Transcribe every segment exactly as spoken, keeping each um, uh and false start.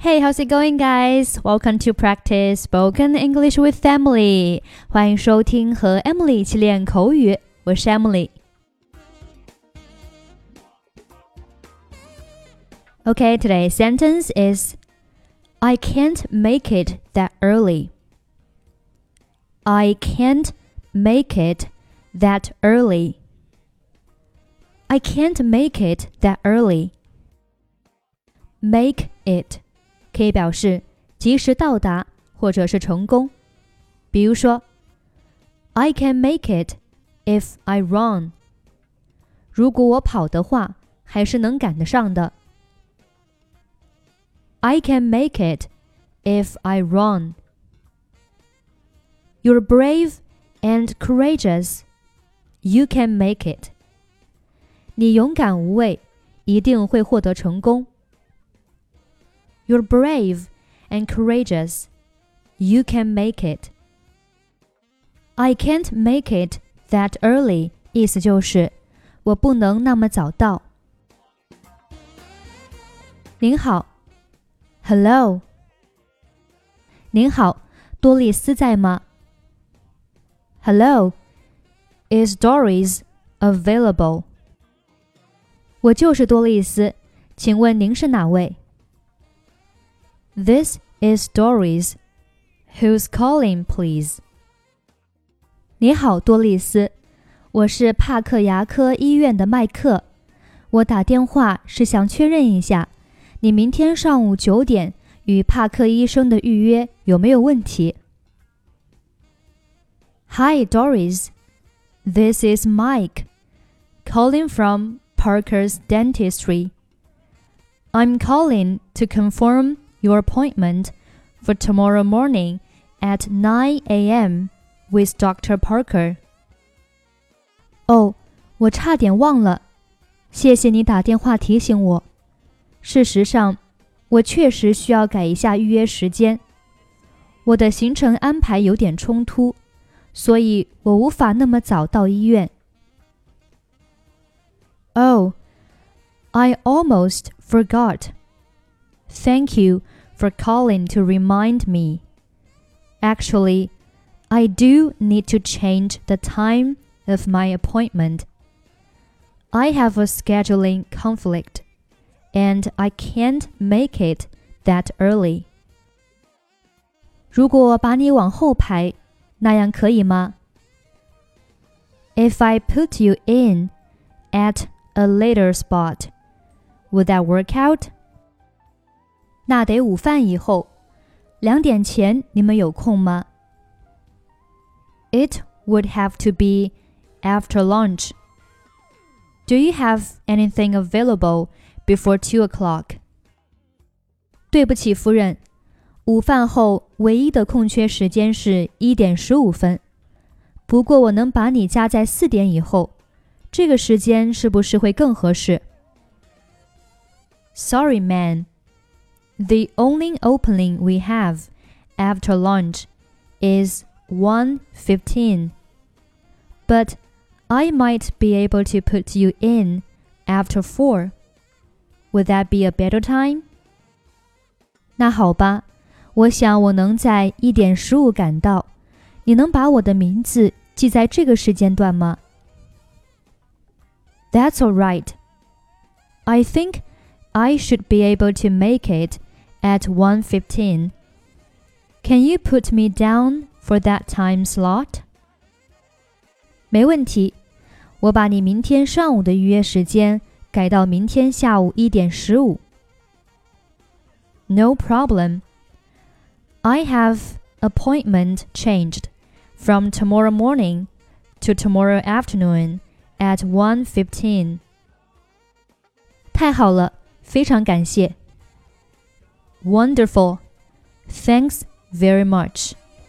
Hey, how's it going, guys? Welcome to practice spoken English with Emily. 欢迎收听和 Emily 一起练口语，我是 Emily。Okay, today's sentence is I can't make it that early. I can't make it that early. I can't make it that early. Make it可以表示及时到达或者是成功。比如说 I can make it if I run. 如果我跑的话，还是能赶得上的。I can make it if I run. You're brave and courageous. You can make it. 你勇敢无畏，一定会获得成功。You're brave and courageous. You can make it. I can't make it that early. 意思就是我不能那么早到。您好 Hello 您好，多丽丝在吗 Hello Is Doris available? 我就是多丽丝，请问您是哪位This is Doris. Who's calling, please? 你好，多丽丝，我是帕克牙科医院的麦克。我打电话是想确认一下，你明天上午九点与帕克医生的预约有没有问题 Hi, Doris. This is Mike, calling from Parker's Dentistry. I'm calling to confirm your appointment for tomorrow morning at nine a.m. with Doctor Parker. 哦，我差点忘了，谢谢你打电话提醒我。事实上，我确实需要改一下预约时间。我的行程安排有点冲突，所以我无法那么早到医院。Oh, I almost forgot. Thank you for calling to remind me. Actually, I do need to change the time of my appointment. I have a scheduling conflict, and I can't make it that early. 如果把你往后排，那样可以吗 If I put you in at a later spot, would that work out?那得午饭以后，两点前你们有空吗 It would have to be after lunch. Do you have anything available before two o'clock? 对不起，夫人，午饭后唯一的空缺时间是一点十五分。不过我能把你加在四点以后，这个时间是不是会更合适 Sorry, man.The only opening we have after lunch is one fifteen. But I might be able to put you in after four. Would that be a better time? 那好吧，我想我能在一点十五赶到。你能把我的名字记在这个时间段吗 That's all right. I think I should be able to make it at one fifteen. Can you put me down for that time slot? 没问题，我把你明天上午的预约时间改到明天下午一点十五。No problem. I have appointment changed from tomorrow morning to tomorrow afternoon at one fifteen. 太好了，非常感谢。Wonderful. Thanks very much.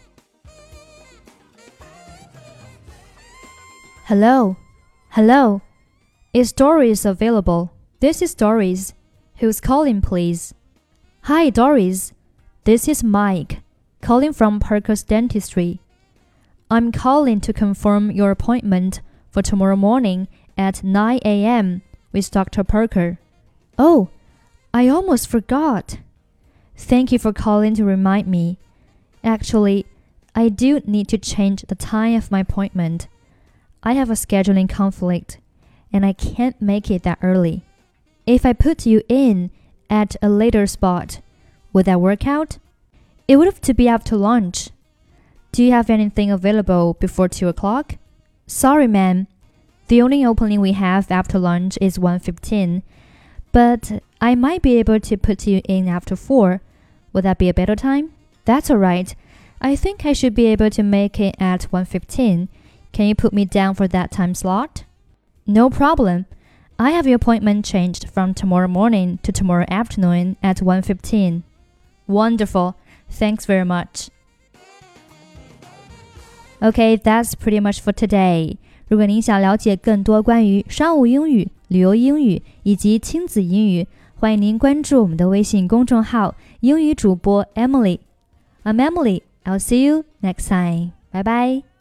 Hello. Hello. Is Doris available? This is Doris. Who's calling, please? Hi, Doris. This is Mike, calling from Parker's Dentistry. I'm calling to confirm your appointment for tomorrow morning at nine a.m. with Doctor Parker. Oh, I almost forgot. Thank you for calling to remind me. Actually, I do need to change the time of my appointment. I have a scheduling conflict, and I can't make it that early. If I put you in at a later spot, would that work out? It would have to be after lunch. Do you have anything available before two o'clock? Sorry, ma'am. The only opening we have after lunch is one fifteen, but I might be able to put you in after four. Would that be a better time? That's all right. I think I should be able to make it at one fifteen. Can you put me down for that time slot? No problem. I have your appointment changed from tomorrow morning to tomorrow afternoon at one fifteen. Wonderful. Thanks very much. Okay, that's pretty much for today. 如果您想了解更多关于商务英语、旅游英语以及亲子英语，欢迎您关注我们的微信公众号英语主播 Emily。I'm Emily. I'll see you next time. Bye bye.